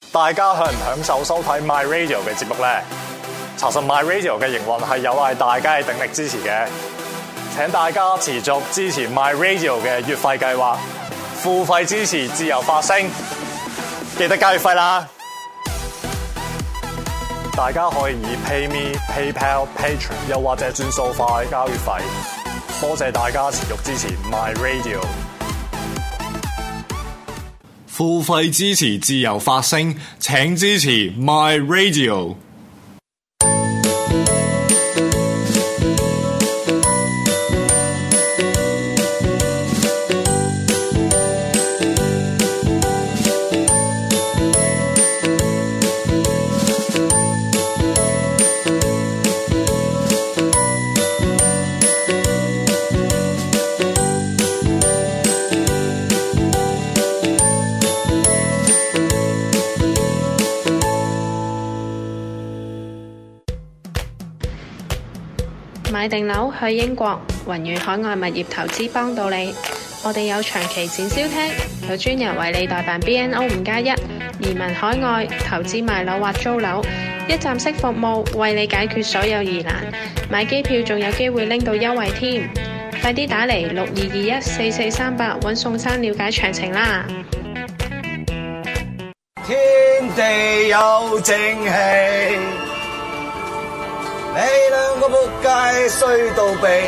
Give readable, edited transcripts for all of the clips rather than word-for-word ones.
大家享唔享受收睇 My Radio 嘅節目呢？查實 My Radio 嘅營運係有賴大家嘅鼎力支持嘅，請大家持續支持 My Radio 嘅月費計劃，付費支持自由發聲，記得交月費啦！大家可以以 PayMe、PayPal、Patreon 又或者轉數快交月費，多謝大家持續支持 My Radio。付費支持自由發聲，請支持 My Radio。 買定樓去英國，宏遠海外物業投資幫到你。我哋有長期展銷廳，有專人為你代辦 BNO 5+1移民海外投資賣樓或租樓，一站式服務為你解決所有疑難。買機票仲有機會拎到優惠添，快啲打嚟62214438搵宋生了解詳情啦！ 天地有正氣。你兩個仆街衰到痹，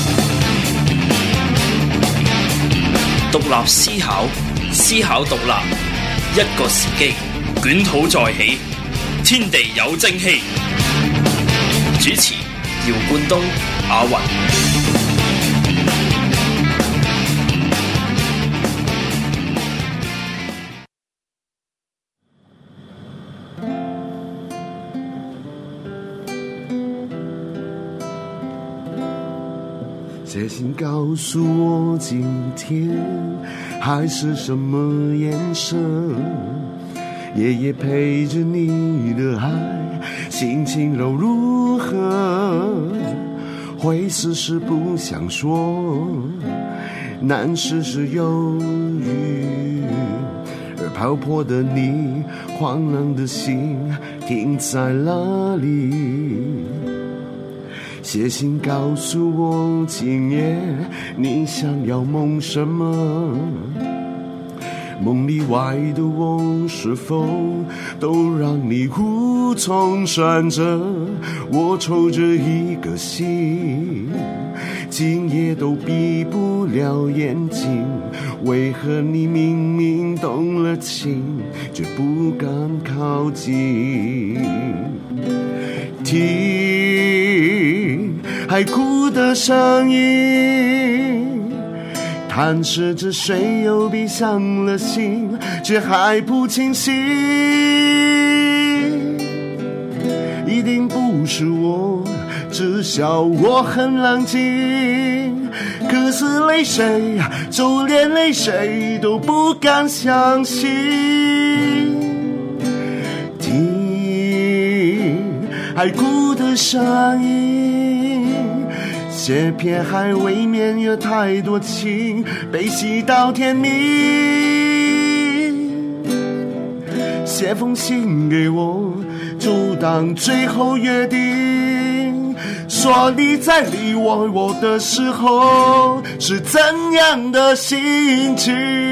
獨立思考，思考獨立，一個時機，捲土再起，天地有正氣。主持：姚冠東、阿雲。 写信告訴我今天海是什麼顏色，夜夜陪着你的海，心情又如何？會事事不想說，難事事猶豫，而漂泊的你，慌亂的心停在哪裡？寫信告訴我今夜你想要夢什麼，夢裡外的我是否都讓你無從選擇？我抽着一個心，今夜都閉不了眼睛，為何你明明動了情，卻不敢靠近？聽海哭的聲音，探視着誰又閉上了心，卻還不清醒。一定不是我，至少我很冷靜，可是淚水，就連淚水都不敢相信。聽海哭的聲音，這片海未免有太多情，被洗到天明。寫封信給我，就當最後約定，說你在離我的時候是怎樣的心情。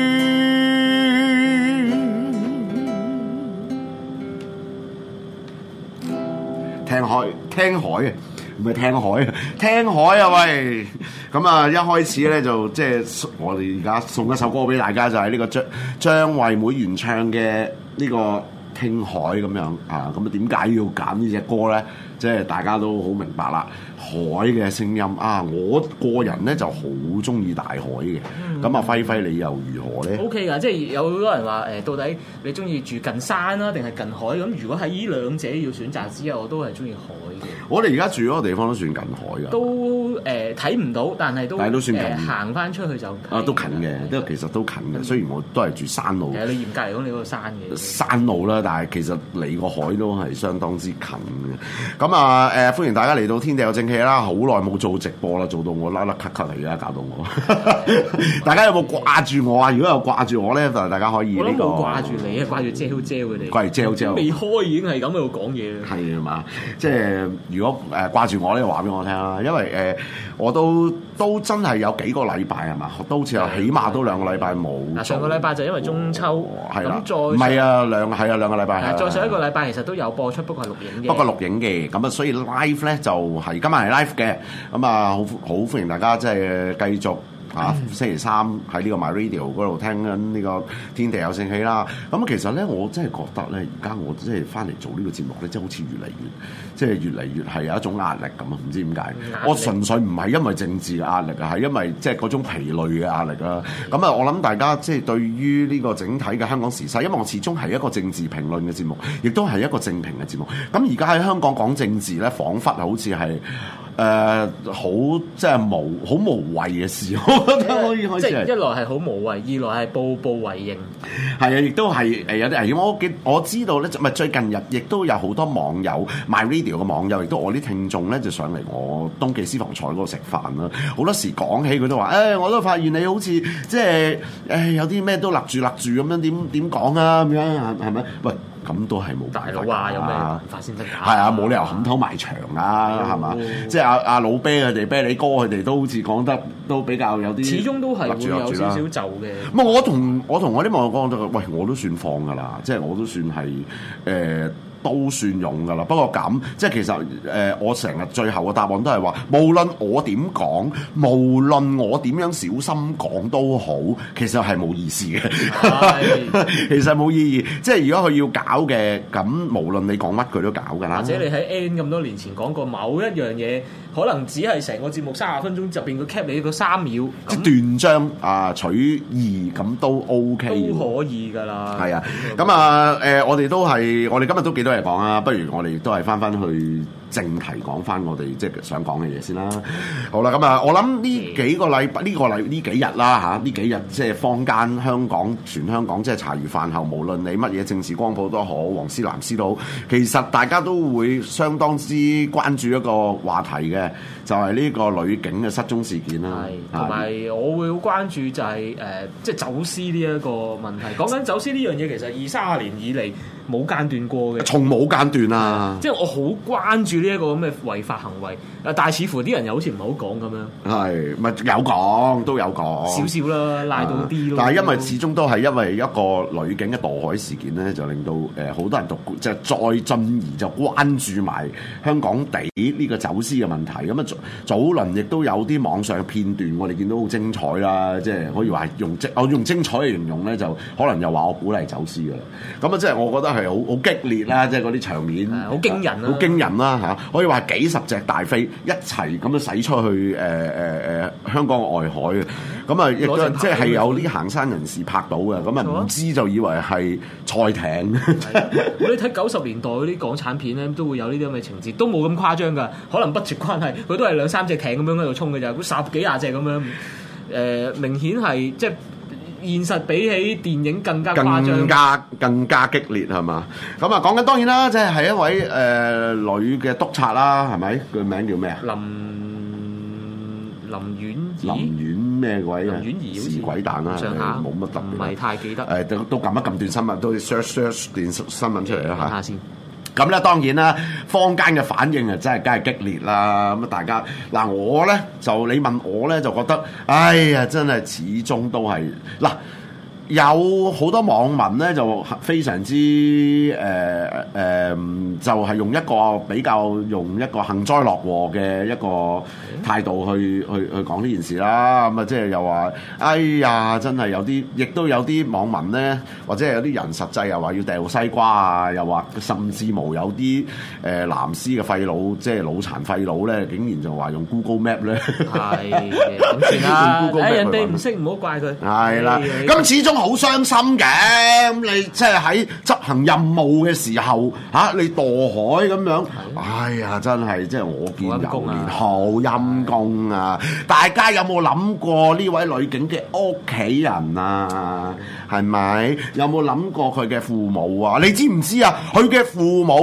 聽海啊，唔係聽海啊，聽海啊喂！咁啊，一開始咧就即係我哋而家送一首歌俾大家，就係呢個張惠妹原唱嘅呢個聽海咁樣啊。咁啊，點解要揀呢隻歌咧？即係大家都好明白啦，海嘅聲音啊！我個人咧就好中意大海嘅。咁啊，輝輝你又如何咧 ？OK 㗎，即係有好多人話到底你中意住近山啦，定係近海？咁如果喺呢兩者要選擇之後，我都係中意海嘅。 我哋而家住嗰個地方都算近海㗎。 都睇唔到，但係都算近。 行翻出去就都近嘅，其實都近嘅。雖然我都係住山路。 其實你嚴格嚟講，你嗰個山嘅。 山路啦，但係其實離個海都係相當之近嘅。 咁啊歡迎大家嚟到天地有正氣啦！好耐冇做直播啦，做到我甩甩咳咳嚟㗎，搞到我。大家有冇掛住我啊？如果有掛住我咧，就大家可以呢個。 我都冇掛住你啊，掛住Jell佢哋。 掛住Jell 未開已經係咁喺度講嘢啦。 係嘛？即係如果掛住我咧，話俾我聽啦，因為我都真係有幾個禮拜係嘛，都好似有起碼都2個禮拜冇。 嗱，上個禮拜就因為中秋，咁再唔係啊兩個禮拜。 再上一個禮拜其實都有播出，不過係錄影嘅。 不過錄影嘅，咁啊，所以 live 咧就係今日係 live 嘅，咁啊好歡迎大家即係繼續。星期三喺呢個 My Radio 嗰度聽緊呢個天地有正氣啦。咁其實咧，我真係覺得咧，而家我即係翻嚟做呢個節目咧，即係好似越嚟越係有一種壓力咁啊！唔知點解，我純粹唔係因為政治嘅壓力啊，係因為即係嗰種疲累嘅壓力啦。咁啊，我諗大家即係對於呢個整體嘅香港時勢，因為我始終係一個政治評論嘅節目，亦都係一個正評嘅節目。咁而家喺香港講政治咧，彷彿好似係。好即係好無謂嘅事，我覺得可以開始。 即係一來係好無謂，二來係步步為營。 係啊，亦都係有啲危險。我知道咧，咪最近日亦都有好多網友 My Radio 嘅網友，亦都我啲聽眾咧就上嚟我東記私房菜嗰度食飯啦。好多時講起佢都話，我都發現你好似即係有啲咩都勒住咁樣，點講啊咁樣係咪？喂！咁都係冇大佬啊！有咩辦法先得㗎？ 係啊，冇理由冚頭埋牆啊，係嘛？即係阿老啤佢哋、啤梨哥佢哋都好似講得都比較有啲， 始終都係會有少少就嘅。 唔係我同我啲網友講，喂，我都算放㗎啦，即係我都算係都算用㗎啦，不過咁即係其實我成日最後嘅答案都係話，無論我點講，無論我點樣小心講都好，其實係冇意思嘅。其實冇意義。即係如果佢要搞嘅，咁無論你講乜佢都搞㗎啦。 或者你喺 N 咁多年前講過某一樣嘢，可能只係成個節目30分鐘入邊佢 cap 你個3秒， 即係斷章取義咁都 OK， 都可以㗎啦。 係啊，咁啊我哋今日都幾多嘢講啊，不如我哋都係翻去正題講翻我哋即係想講嘅嘢先啦。好啦，咁啊，我諗呢幾日啦嚇，呢幾日即係坊間全香港即係茶餘飯後，無論你乜嘢政治光譜都好，黃絲藍絲都好，其實大家都會相當之關注一個話題嘅，就係呢個女警嘅失蹤事件啦。 係，同埋我會好關注就係即係走私呢一個問題。講緊走私呢樣嘢，其實20-30年以嚟冇間斷過嘅，從冇間斷啊！即係我好關注呢一個咁嘅違法行為，但係似乎啲人又好似唔係好講咁樣。係，咪有講都有講少少啦，拉到啲咯。但係因為始終都係因為一個女警嘅墮海事件咧，就令到好多人就再進而就關注埋香港地呢個走私嘅問題。咁啊早輪亦都有啲網上嘅片段，我哋見到好精彩啦，即係可以話用精彩嚟形容咧，就可能又話我鼓勵走私㗎啦。咁啊，即係我覺得係好激烈啦，即係嗰啲場面好驚人啦，好驚人啦嚇！可以話幾十隻大飛一齊咁樣駛出去香港外海嘅，咁啊亦都即係有啲行山人士拍到嘅，咁啊唔知就以為係賽艇。你睇90年代嗰啲港產片咧，都會有呢啲咁嘅情節，都冇咁誇張㗎，可能 budget 關係，佢都係2-3隻艇咁樣喺度衝嘅咋，咁10幾廿隻咁樣，明顯係即係。現實比起電影更加誇張，更加激烈係嘛？咁啊講緊當然啦，即係一位女嘅督察啦，係咪？佢名叫咩啊？林婉咩鬼啊？林婉儀是鬼蛋啦，冇乜特別，唔係太記得。都撳一撳段新聞，都 search 段新聞出嚟啦嚇。睇下先。咁咧當然啦，坊間嘅反應啊，真係梗係激烈啦。咁啊，大家嗱我咧就你問我咧就覺得，哎呀，真係始終都係嗱。有好多網民咧就非常之就係用一個比較用一個幸災樂禍嘅一個態度去講呢件事啦。咁啊，即係又話，哎呀，真係有啲，亦都有啲網民咧，或者係有啲人實際又話要掉西瓜啊，又話甚至無有啲藍絲嘅廢佬，即係腦殘廢佬咧，竟然就話用 Google Map 咧，係咁算啦。人哋唔識唔好怪佢。係啦，咁始終好傷心嘅，咁你即係喺執行任務嘅時候你墮海咁樣，哎呀，真係即係我見猶憐，好陰公啊！大家有冇諗過呢位女警嘅屋企人啊？係咪有冇諗過佢嘅父母啊？你知唔知啊？佢嘅父母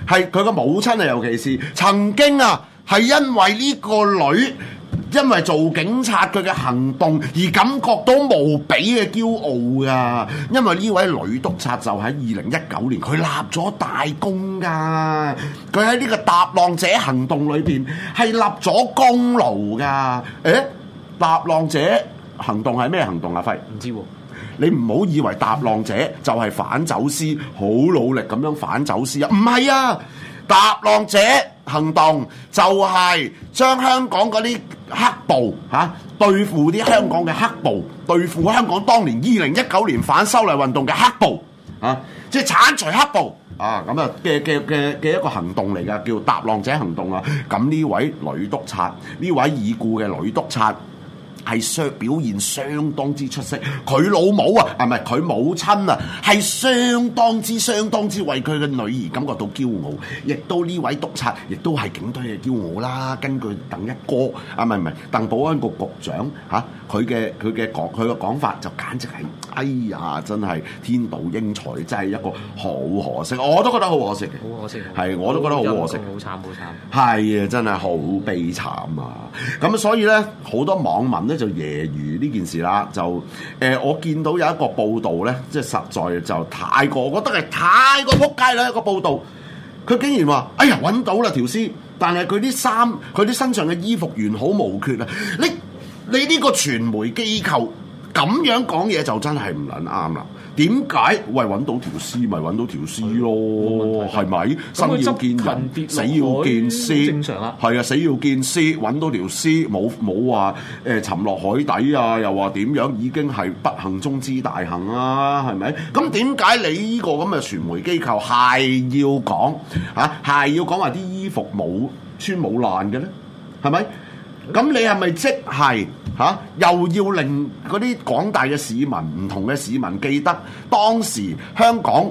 係佢個母親啊，尤其是曾經啊，係因為呢個女。因為做警察佢嘅行動而感覺到無比嘅驕傲㗎，因為呢位女督察就喺2019年佢立咗大功㗎，佢喺呢個踏浪者行動裏邊係立咗功勞㗎。踏浪者行動係咩行動啊？輝唔知喎。 你唔好以為踏浪者就係反走私，好努力咁樣反走私啊！唔係啊，踏浪者行動就係將香港嗰啲黑暴對付啲香港嘅黑暴，對付香港當年2019年反修例運動嘅黑暴即係剷除黑暴咁啊嘅一個行動嚟㗎，叫踏浪者行動啊！咁呢位女督察，呢位已故嘅女督察。係表現相當之出色，佢老母啊，唔係佢母親啊，係相當之為佢嘅女兒感覺到驕傲，亦都呢位督察，亦都係警隊嘅驕傲啦。根據鄧一哥唔係鄧保安局局長佢嘅講法就簡直係，哎呀，真係天妒英才，真係一個好可惜，我都覺得好可惜嘅， 好可惜， 係我都覺得好可惜， 好慘， 係啊，真係好悲慘啊！咁所以咧，好多網民咧就揶揄呢件事啦，就我見到有一個報道咧，即係實在就太過，我覺得係太過撲街啦一個報道，佢竟然話：哎呀，揾到啦條屍，但係佢啲衫、佢啲身上嘅衣服完好無缺啊！你呢個傳媒機構咁樣講嘢就真係唔撚啱啦。點解？喂，揾到條屍咪揾到條屍咯，係咪？生要見人，死要見屍， 正常啦。 係啊，死要見屍，揾到條屍，冇話沉落海底啊，又話點樣已經係不幸中之大幸啊，係咪？咁點解你呢個咁嘅傳媒機構係要講係要講話啲衣服冇穿冇爛嘅咧？係咪？咁你係咪即係又要令嗰啲廣大嘅市民、唔同嘅市民記得當時香港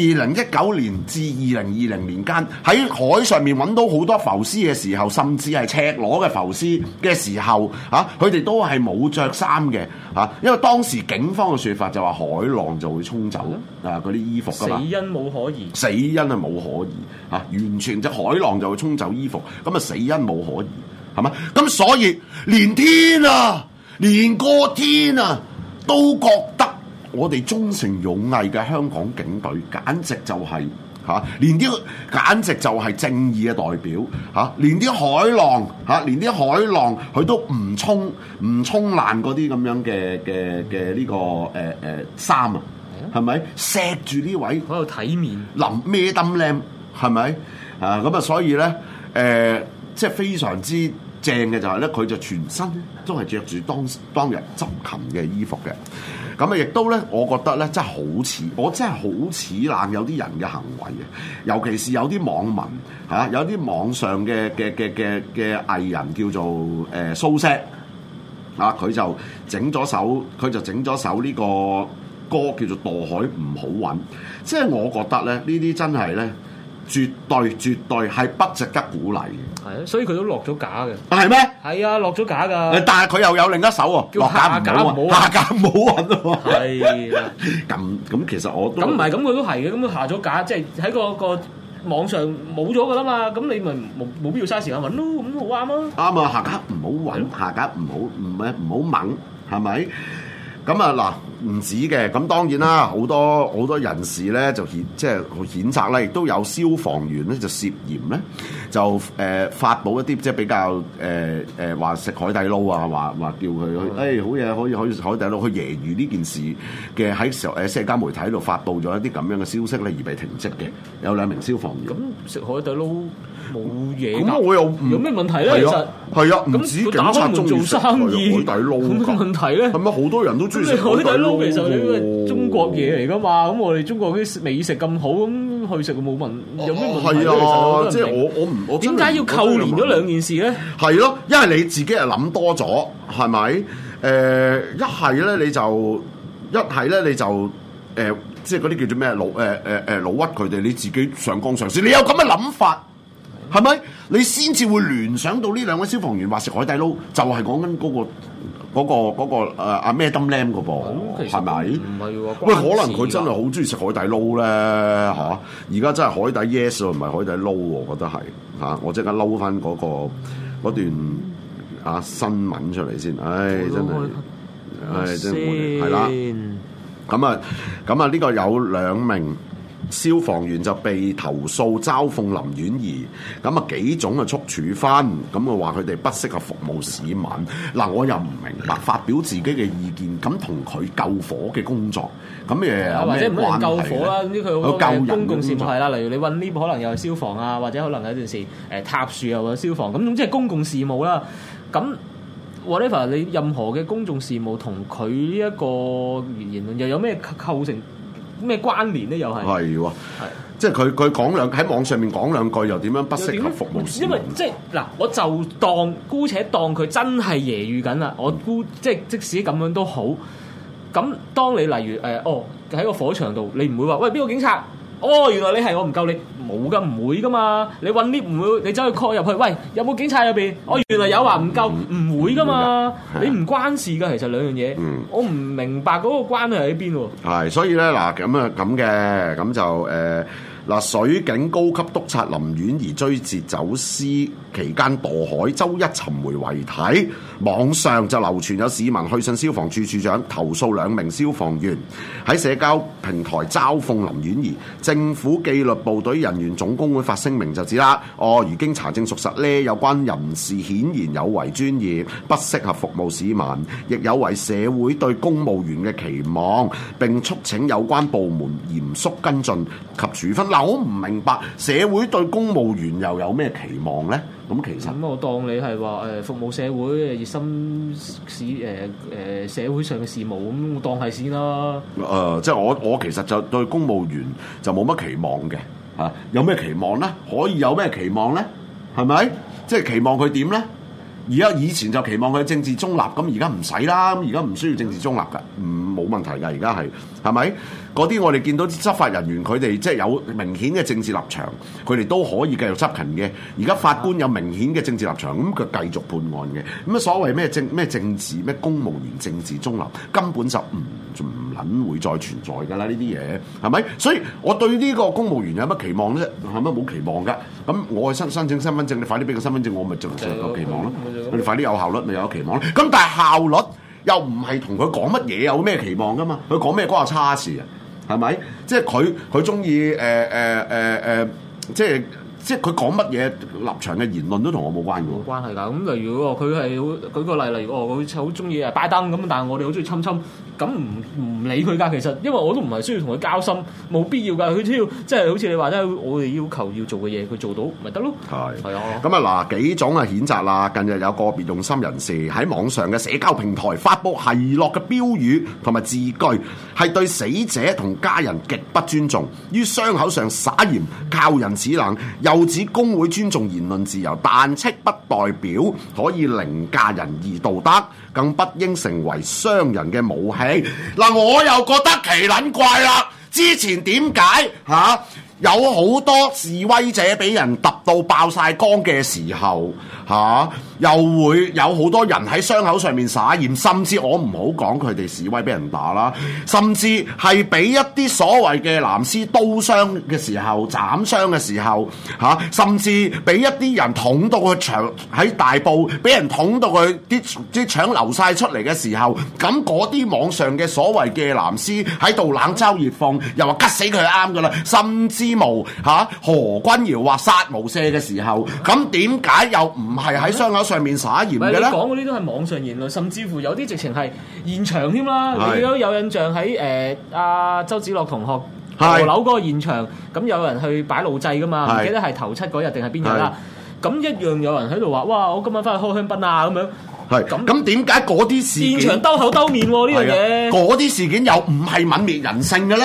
2019年至2020年間喺海上面揾到好多浮屍嘅時候，甚至係赤裸嘅浮屍嘅時候，佢哋都係冇着衫嘅因為當時警方嘅説法就話海浪就會沖走嗰啲衣服㗎嘛， 死因冇可疑， 死因係冇可疑完全就海浪就會沖走衣服，咁啊死因冇可疑。係嘛？咁所以連天啊，連個天啊，都覺得我哋忠誠勇毅嘅香港警隊，簡直就係連啲簡直就係正義嘅代表連啲海浪連啲海浪佢都唔沖爛嗰啲咁樣嘅呢個衫啊，係咪錫住呢位喺度體面孭燈靚係咪咁啊？所以咧即係非常之正嘅就係咧，佢就全身都係着住當日執勤嘅衣服嘅。咁啊，亦都咧，我覺得咧，真係好似冷有啲人嘅行為嘅，尤其是有啲網民有啲網上嘅藝人叫做蘇軾佢就整咗首呢個歌叫做《墮海唔好揾》，即係我覺得咧，呢啲真係咧。絕對係不值得鼓勵嘅。 係啊，所以佢都落咗架嘅。 係咩？ 係啊，落咗架㗎。 但係佢又有另一首喎， 叫下架唔好， 下架唔好揾喎。 係啊。 咁其實我都咁唔係咁，佢都係嘅。咁佢下咗架，即係喺個網上冇咗㗎啦嘛。咁你咪冇必要嘥時間揾咯。咁好啱啊。啱啊，下架唔好揾，下架唔好掹，係咪？咁啊嗱，唔止嘅，咁當然啦，好多人士咧就即係譴責咧，亦都有消防員咧就涉嫌咧就發布一啲即係比較話食海底撈啊，話叫佢好嘢可以食海底撈，去揶揄呢件事嘅喺社交媒體度發布咗一啲咁樣嘅消息咧而被停職嘅，有2名消防員。咁食海底撈冇嘢㗎，咁我又有咩問題咧？其實係啊，唔止警察中意食海底撈，有咩問題咧？係咪好多人都中意食海底撈？其實呢個中國嘢嚟㗎嘛，咁我哋中國啲美食咁好，咁去食冇問有咩問題咧？係啊，即係我點解要扣連咗兩件事咧？係咯，因為你自己係諗多咗，係咪？一係咧你就即係嗰啲叫做咩老屈佢哋，你自己上綱上線，你有咁嘅諗法。係咪？你先至會聯想到呢2位消防員話食海底撈，就係講緊嗰嗰個阿咩金 lam 嗰噃，係咪？ 唔係喎， 喂，可能佢真係好中意食海底撈咧嚇。而家真係海底 yes 喎，唔係海底撈喎，我覺得係嚇。我即刻撈翻嗰段新聞出嚟先。真係係啦。咁啊，呢個有2名消防員就被投訴嘲諷林婉儀，咁啊幾種嘅促處分，咁啊話佢哋不適合服務市民。嗱，我又唔明白發表自己嘅意見，咁同佢救火嘅工作，咁誒或者唔係救火啦，咁佢好多公共事務係啦，例如你運 lift 可能又係消防啊，或者可能有陣時塌樹又有消防，咁總之係公共事務啦。咁 whatever 你任何嘅公眾事務同佢呢一個言論又有咩構成咩關聯咧？又係喎，即係佢喺網上面講兩句，又點樣不適合服務市民？ 因為即係嗱，我就姑且當佢真係揶揄緊啦，我即使咁樣都好。咁當你例如喺個火場度，你唔會話喂邊個警察？原來你係我唔夠你冇噶，唔會噶嘛。你揾 lift 唔會，你走去 call 入去，喂有冇警察入邊？原來有話唔夠，唔會噶嘛。你唔關事噶，其實兩樣嘢。我唔明白嗰個關係喺邊喎。 係，所以咧嗱咁嘅，咁就水警高級督察林婉儀追截走私期間墮海，周一尋回遺體。網上就流傳有市民去信消防處處長投訴2名消防員喺社交平台嘲諷林婉儀。政府紀律部隊人員總工會發聲明就指啦，如經查證屬實呢，有關人士顯然有違專業，不適合服務市民，亦有違社會對公務員嘅期望，並促請有關部門嚴肅跟進及處分。嗱，我唔明白社會對公務員又有咩期望呢？咁其實我當你係話服務社會、熱心社會上嘅事務，咁我當係先啦。 即係我其實就對公務員就冇乜期望嘅嚇。有咩期望呢？可以有咩期望呢？係咪？即係期望佢點呢？以前就期望佢政治中立，咁而家唔使啦，咁而家唔需要政治中立㗎，冇問題㗎。而家係咪？嗰啲我哋見到啲執法人員，佢哋即係有明顯嘅政治立場，佢哋都可以繼續執勤嘅。而家法官有明顯嘅政治立場，咁佢繼續判案嘅。咁所謂咩政治咩公務員政治中立，根本就唔撚會再存在㗎啦！呢啲嘢係咪？所以我對呢個公務員有乜期望啫？係咪冇期望㗎？咁我去申請身份證，你快啲俾個身份證，我咪就有期望咯。你快啲有效率，咪有期望咯。咁但係效率又唔係同佢講乜嘢有咩期望㗎嘛？佢講咩關我叉事啊？係咪？即係佢中意即係佢講乜嘢立場嘅言論都同我冇關嘅喎。 冇關係㗎。咁例如佢係舉個例，例如佢好中意拜登咁，但係我哋好中意侵，咁唔理佢㗎。其實因為我都唔係需要同佢交心，冇必要㗎。佢只要即係好似你話齋，我哋要求要做嘅嘢，佢做到咪得咯。係啊。咁啊嗱，幾種譴責啦。近日有個別用心人士喺網上嘅社交平台發布奚落嘅標語同埋字句，係對死者同家人極不尊重，於傷口上灑鹽，靠人齒冷。又指工會尊重言論自由，但斥不代表可以凌駕人義道德，更不應成為傷人嘅武器。嗱，我又覺得奇撚怪啦！之前點解有好多示威者俾人揼到爆晒光嘅時候又會有好多人喺傷口上面灑鹽，甚至我唔好講佢哋示威俾人打啦，甚至係俾一啲所謂嘅藍絲刀傷嘅時候、斬傷嘅時候甚至俾一啲人捅到佢腸喺大埔，俾人捅到佢啲腸流晒出嚟嘅時候，咁嗰啲網上嘅所謂嘅藍絲喺度冷嘲熱諷，又話吉死佢係啱噶啦，甚至無何君堯話殺無赦嘅時候，咁點解又唔係喺傷口上面灑鹽嘅咧？ 你講嗰啲都係網上言論，甚至乎有啲直情係現場添啦。你都有印象喺周梓樂同學墮樓嗰個現場，咁有人去擺路祭噶嘛？唔記得係頭七嗰日定係邊日啦？咁一樣有人喺度話：哇！我今晚翻去開香檳啊！咁樣。 咁點解嗰啲事件現場兜口兜面呢樣嘢？ 嗰啲事件又唔係泯滅人性嘅咧？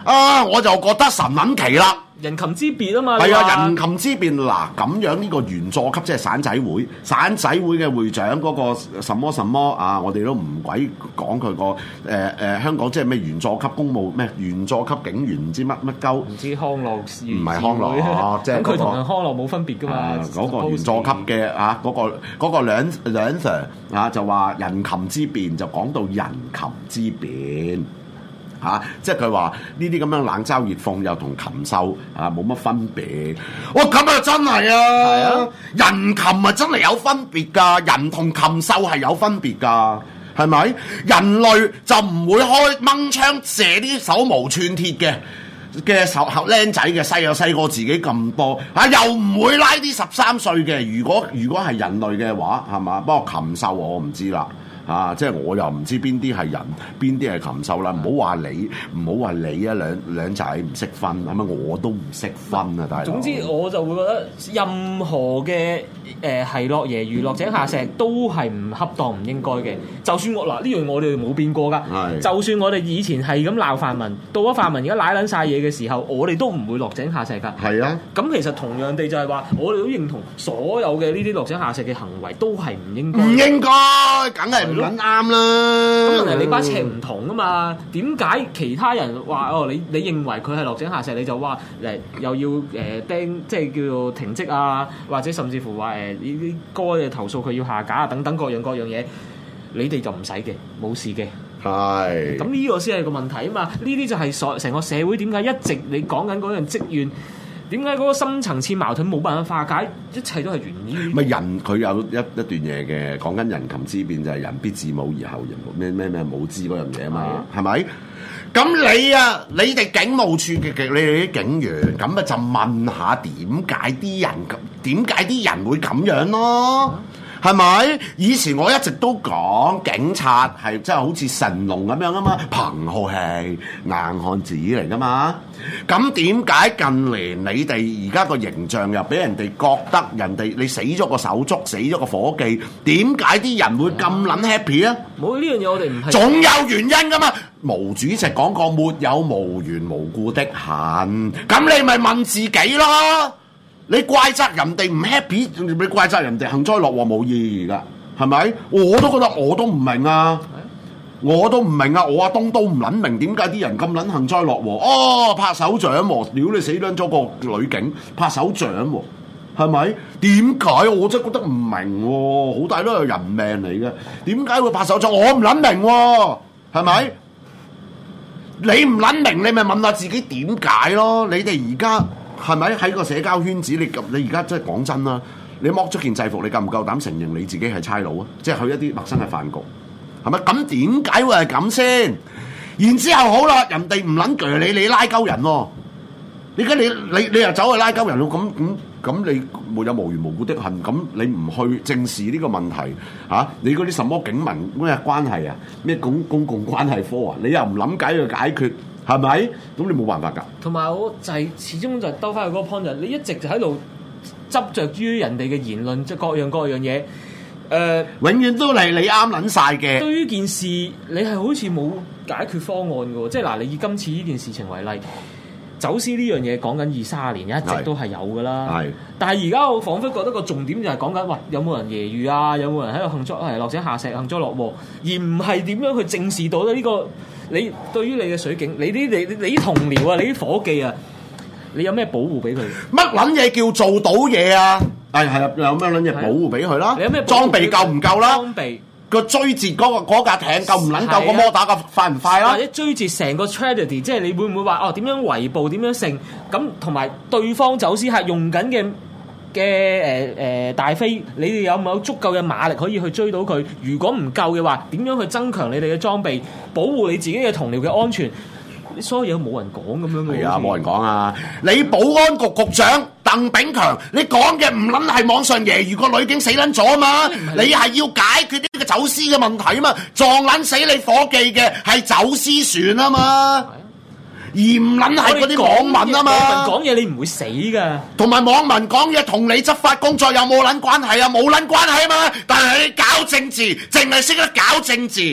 我就覺得神撚奇啦。 人禽之別啊嘛， 係啊，人禽之別嗱，咁樣呢個員佐級即係散仔會嘅會長嗰個什麼啊，我哋都唔鬼講佢個香港即係咩員佐級公務咩員佐級警員唔知乜鳩， 唔知康樂唔係康樂，即係佢同康樂冇分別噶嘛， 嗰個員佐級嘅啊嗰個兩 Sir 啊就話人禽之別就講到人禽之別。即係佢話呢啲咁樣冷嘲熱諷又同禽獸冇乜分別。咁啊真係啊，人禽啊真係有分別㗎，人同禽獸係有分別㗎，係咪？人類就唔會開掹槍射啲手無寸鐵嘅手僆仔嘅，細過自己咁多又唔會拉啲13歲嘅。如果係人類嘅話，係嘛？不過禽獸我唔知啦。即係我又唔知邊啲係人，邊啲係禽獸啦。唔好話你啊，兩仔唔識分，係咪？我都唔識分啊，大佬。總之我就會覺得任何嘅係樂爺娛樂井下石都係唔恰當、唔應該嘅。就算呢樣我哋冇變過㗎。就算我哋以前係咁鬧泛民，到咗泛民而家賴撚晒嘢嘅時候，我哋都唔會落井下石㗎。係啊。咁其實同樣地就係話，我哋都認同所有嘅呢啲落井下石嘅行為都係唔應該。唔應該，梗係唔啱啦！咁問題你把尺唔同啊嘛？點解其他人話你認為佢係落井下石，你就話又要釘，即係叫做停職啊，或者甚至乎話呢啲歌嘅投訴佢要下架啊，等等各樣嘢，你哋就唔使嘅，冇事嘅。係。咁呢個先係個問題啊嘛！呢啲就係成個社會點解一直你講緊嗰樣積怨。點解嗰個深層次矛盾冇辦法化解？一切都係源於咪人佢有一段嘢嘅，講緊人禽之別就係人必自母而後人咩母之嗰樣嘢啊嘛，係咪？咁你哋警務處嘅你哋啲警員咁就問下點解啲人會咁樣咯？係咪？以前我一直都講警察係真係好似神龍咁樣啊嘛，憑好氣硬漢子嚟噶嘛。咁點解近年你哋而家個形象又俾人哋覺得你死咗個手足，死咗個夥計，點解啲人會咁撚 happy 啊？冇呢樣嘢，我哋唔係總有原因噶嘛。毛主席講過，沒有無緣無故的恨。咁你咪問自己咯。你怪責人哋唔 happy， 你怪責人哋幸災樂禍冇意義噶，係咪？我都覺得我都唔明啊，我阿東都唔撚明點解啲人咁撚幸災樂禍。拍手掌喎，屌你死撚咗個女警，拍手掌喎，係咪？點解？我真係覺得唔明喎，好大都係人命嚟嘅，點解會拍手掌？我唔撚明喎，係咪？你唔撚明，你咪問下自己點解咯？你哋而家。係咪喺個社交圈子？你而家真係講真啦，你剝咗件制服，你夠唔夠膽承認你自己係差佬啊？即係去一啲陌生嘅飯局，係咪？咁點解會係咁先？然之後好啦，人哋唔撚鋸你拉鳩人喎。而家你又走去拉鳩人咯？咁你沒有無緣無故的恨，咁你唔去正視呢個問題你嗰啲什麼警民咩關係啊？咩公共關係科啊？你又唔諗解去解決？係咪？咁你冇辦法㗎。同埋我就係始終就兜翻去嗰個 point， 就你一直就喺度執着於人哋嘅言論，即係各樣嘢。永遠都係你啱撚晒嘅。對於件事，你係好似冇解決方案嘅喎。即係嗱，你以今次呢件事情為例，走私呢樣嘢講緊20-30年一直都係有㗎啦。係。但係而家我彷彿覺得個重點就係講緊，喂，有冇人揶揄啊？有冇人喺度落井下石、幸災樂禍，而唔係點樣去正視到呢個？你對於你嘅水警，你啲同僚啊，你啲夥計啊，你有咩保護俾佢？乜撚嘢叫做到嘢啊？係啊，有咩撚嘢保護俾佢啦？你有咩裝備夠唔夠啦？裝備個追截嗰架艇夠唔撚夠？個摩打個快唔快啦？或者追截成個 tragedy， 即係你會唔會話點樣圍捕點樣成咁？同埋對方走私客用緊嘅大飛，你哋有冇足夠嘅馬力可以去追到佢？如果唔夠嘅話，點樣去增強你哋嘅裝備，保護你自己嘅同僚嘅安全？所有嘢都冇人講咁樣嘅。係啊，冇人講啊！你保安局局長鄧炳強，你講嘅唔撚係網上揶揄個女警死撚咗啊嘛？你係要解決呢個走私嘅問題啊嘛？撞撚死你伙計嘅係走私船啊嘛？而唔撚係嗰啲網民啊嘛，網民講嘢你唔會死噶，同埋網民講嘢同你執法工作有冇撚關係啊？冇撚關係啊嘛，但係你搞政治，淨係識得搞政治，係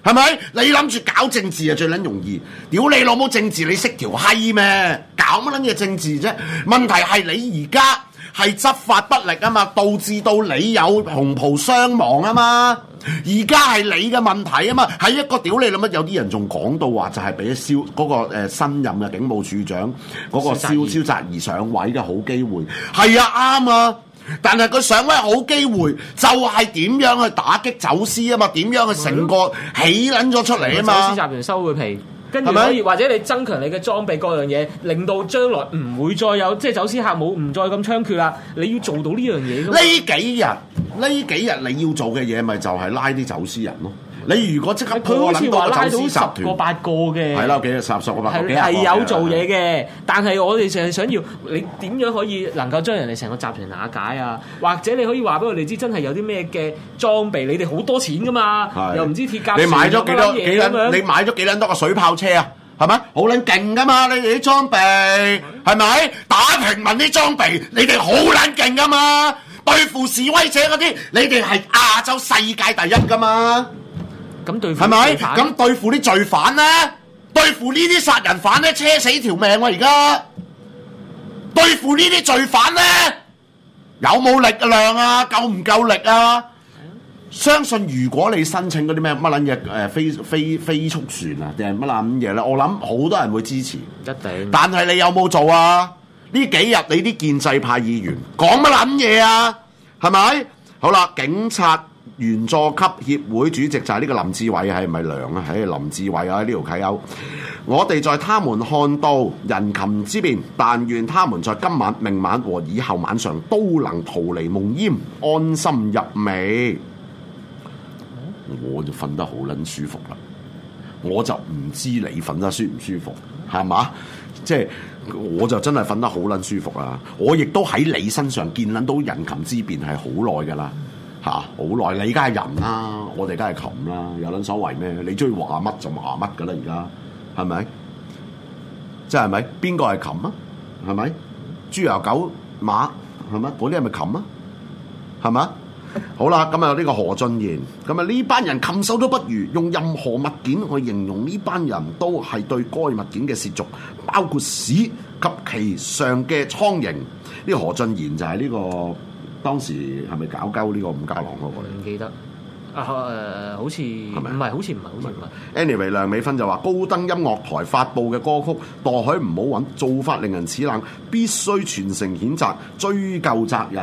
係咪？你諗住搞政治啊最撚容易，屌你老母政治你識條閪咩？搞乜撚嘢政治啫？問題係你而家係執法不力啊嘛，導致到你有紅袍傷亡啊嘛。而家係你嘅問題啊嘛，係一個屌你老母，有啲人仲講到話就係俾蕭嗰個新任嘅警務處長嗰個蕭澤頤上位嘅好機會，係啊啱啊。但係佢上位好機會，就係點樣去打擊走私啊嘛？點樣去成個起撚咗出嚟啊嘛？ 走私集團收佢皮，跟住可以或者你增強你嘅裝備各樣嘢，令到將來唔會再有即係走私客冇唔再咁猖獗啦。你要做到呢樣嘢。呢幾日你要做嘅嘢咪就係拉啲走私人咯。你如果即刻破撚到個走私集團 10個8個嘅， 係啦，幾十個8個係有做嘢嘅，但係我哋淨係想要你點樣可以能夠將人哋成個集團瓦解啊？或者你可以話俾我哋知，真係有啲咩嘅裝備，你哋好多錢噶嘛，又唔知鐵甲， 你買咗幾多？你買咗幾撚多個水炮車啊？係咪好撚勁噶嘛？你哋啲裝備係咪打平民啲裝備？你哋好撚勁噶嘛？對付示威者嗰啲，你哋係亞洲世界第一噶嘛？ 咁對付係咪？咁對付啲罪犯咧，對付呢啲殺人犯咧，車死條命喎！而家對付呢啲罪犯咧，有冇力量啊？夠唔夠力啊？相信如果你申請嗰啲咩乜撚嘢飛速船啊，定係乜撚嘢咧，我諗好多人會支持。 一定。但係你有冇做啊？呢幾日你啲建制派議員講乜撚嘢啊？係咪？好啦，警察員佐級協會主席就係呢個林志偉，係咪梁啊？林志偉啊，呢條契友。我哋在他們看到人禽之變，但願他們在今晚、明晚和以後晚上都能逃離夢魘，安心入寐。我就瞓得好撚舒服啦，我就唔知你瞓得舒唔舒服，係嘛？即係我就真係瞓得好撚舒服啦。我亦都喺你身上見撚到人禽之變係好耐㗎啦，好耐。你梗係人啦，我哋梗係禽啦，有撚所謂咩？你中意話乜就話乜㗎啦，而家係咪？即係咪？邊個係禽啊？係咪？豬油狗馬係咪？嗰啲係咪禽啊？係咪？好啦，咁啊呢個何俊賢，咁啊呢班人禽獸都不如，用任何物件去形容呢班人都係對該物件嘅褻瀆，包括屎及其上嘅蒼蠅。呢個何俊賢就係呢個當時係咪搞鳩呢個伍家朗嗰個？ 唔記得好似係咪？唔係，好似唔係。 Anyway， 梁美芬就話高登音樂台發布嘅歌曲《墮海唔好揾》，做法令人齒冷，必須全城譴責，追究責任。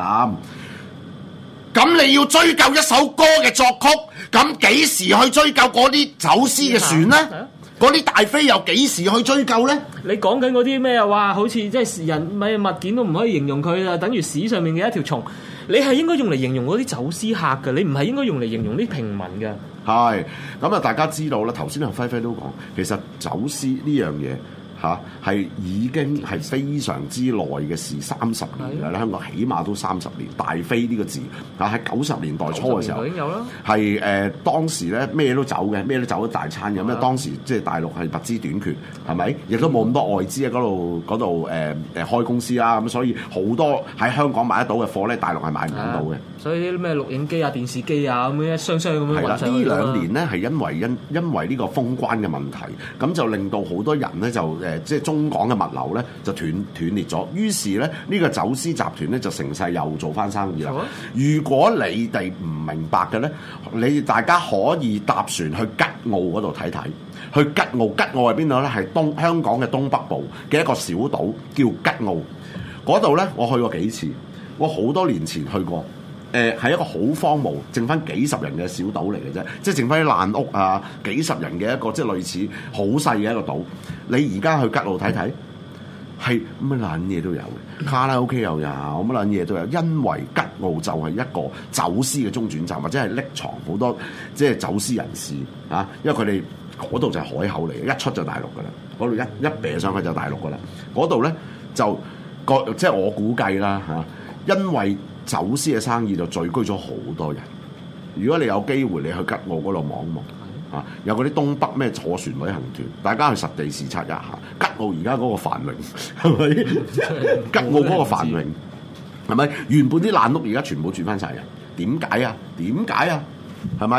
咁你要追究一首歌嘅作曲，咁幾時去追究嗰啲走私嘅船呢？嗰啲大飛又幾時去追究呢？ 你講緊嗰啲咩話？好似即係人咪物件都唔可以形容佢啊，等於屎上面嘅一條蟲。你係應該用嚟形容嗰啲走私客嘅，你唔係應該用嚟形容啲平民嘅。係咁啊！大家知道啦，頭先阿輝輝都講，其實走私呢樣嘢。係已經係非常之耐嘅事，30年嘅啦。香港起碼都30年。大飛呢個字喺90年代初嘅時候已經有啦。係當時咧咩都走嘅，咩都走咗大餐嘅。咁當時即係大陸係物資短缺，係咪？亦都冇咁多外資喺嗰度開公司啦。咁所以好多喺香港買得到嘅貨咧，大陸係買唔到嘅。所以啲咩錄影機啊、電視機啊咁樣一箱箱咁樣運上去。呢2年咧係因為呢個封關嘅問題，咁就令到好多人咧就即係中港嘅物流咧就斷裂咗，於是咧呢個走私集團咧就成勢又做翻生意啦。如果你哋唔明白嘅咧，你大家可以搭船去吉澳嗰度睇睇。去吉澳係邊度咧？係香港嘅東北部嘅一個小島叫吉澳。嗰度咧我去過幾次，我好多年前去過。係一個好荒蕪，剩翻幾十人嘅小島嚟嘅啫，即係剩翻啲爛屋啊，幾十人嘅一個即係類似好細嘅一個島。你而家去吉澳睇睇，係乜撚嘢都有嘅，卡拉 OK 又有，乜撚嘢都有。因為吉澳就係一個走私嘅中轉站，或者係匿藏好多即係走私人士啊。因為佢哋嗰度就係海口嚟嘅，一出就大陸噶啦。嗰度一啤上去就大陸噶啦。嗰度咧就即係我估計啦嚇，因為走私嘅生意就聚居咗好多人。如果你有機會，你去吉澳嗰度望一望啊，有嗰啲東北咩坐船旅行團，大家去實地視察一下吉澳而家嗰個繁榮，係咪？吉澳嗰個繁榮係咪？原本啲爛屋而家全部住翻晒人，點解啊？點解啊？係咪？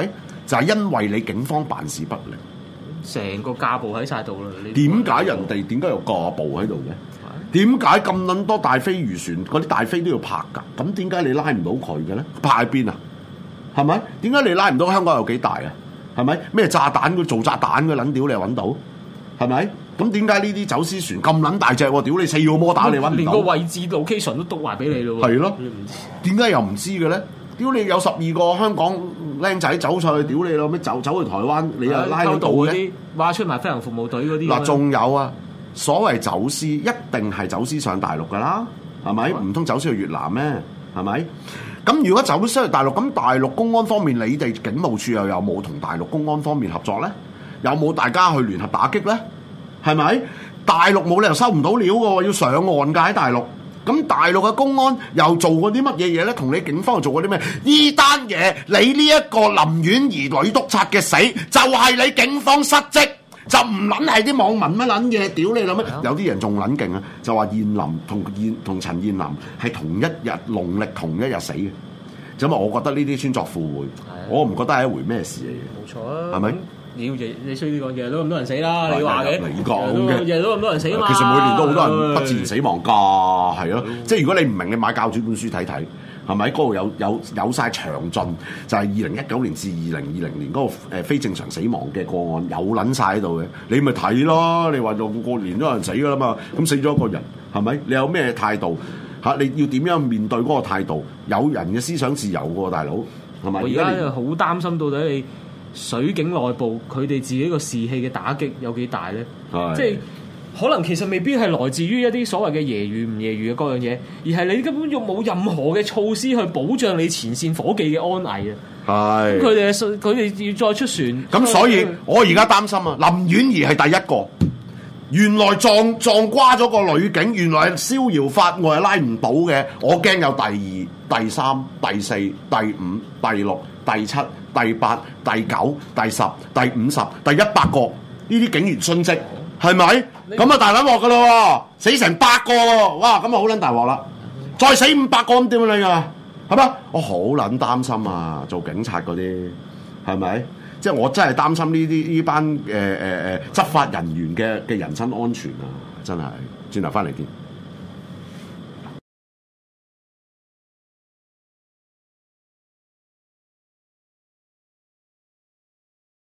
就係因為你警方辦事不力， 成個架步喺晒度啦。 點解人哋點解有架步喺度嘅？點解咁撚多大飛漁船嗰啲大飛都要拍㗎？咁點解你拉唔到佢嘅咧？拍喺邊啊？係咪？點解你拉唔到香港有幾大啊？係咪？咩炸彈佢做炸彈嘅撚屌你又揾到？係咪？咁點解呢啲走私船咁撚大隻喎？屌你4個摩打你揾唔到？連個位置 location 都督埋俾你咯喎。 係咯，點解又唔知嘅咧？屌你有12個香港僆仔走上去，屌你咯咩？走去台灣，你又拉到嘅？ 話出埋飛行服務隊嗰啲。 嗱，仲有啊，所謂走私一定係走私上大陸㗎啦，係咪？唔通走私去越南咩？係咪？咁如果走私去大陸，咁大陸公安方面，你哋警務處又有冇同大陸公安方面合作咧？有冇大家去聯合打擊咧？係咪？大陸冇理由收唔到料嘅喎，要上岸㗎喺大陸。咁大陸嘅公安又做過啲乜嘢嘢咧？同你警方又做過啲咩？呢單嘢，你呢一個林婉儀女督察嘅死，就係你警方失職，就唔撚係啲網民乜撚嘢，屌你諗咩？有啲人仲撚勁啊，就話燕林同陳燕林係同一日農曆同一日死嘅，咁啊，我覺得呢啲穿鑿附會，我唔覺得係一回咩事嚟嘅。冇錯啊，係咪？你衰啲講嘢都咁多人死啦，你話嘅？ 你講嘅， 日日都咁多人死啊嘛。 其實每年都好多人不自然死亡㗎，係咯。即係如果你唔明，你買教主本書睇睇，係咪？嗰度有晒詳盡，就係2019年至2020年嗰個非正常死亡嘅個案有撚晒喺度嘅，你咪睇咯。你話過年都有人死㗎啦嘛，咁死咗一個人，係咪？你有咩態度嚇？你要點樣面對嗰個態度？有人嘅思想自由喎，大佬係咪？ 我而家好擔心到底你水警內部佢哋自己個士氣嘅打擊有幾大咧？即係可能其實未必係來自於一啲所謂嘅揶揄唔揶揄嘅各樣嘢，而係你根本又冇任何嘅措施去保障你前線伙計嘅安危啊！係佢哋要再出船， 咁所以我而家擔心啊！林婉儀係第一個，原來撞瓜咗個女警，原來係逍遙法外拉唔到嘅，我驚有第2、第3、第4、第5、第6、第7、第8、第9、第10、第50、第100個呢啲警員殉職，係咪？咁啊大撚鑊噶咯喎，死成100個喎，哇！咁啊好撚大鑊啦，再死500個咁點樣你啊？係咪？我好撚擔心啊！做警察嗰啲係咪？即係我真係擔心呢班執法人員嘅人身安全啊！真係，轉頭翻嚟見。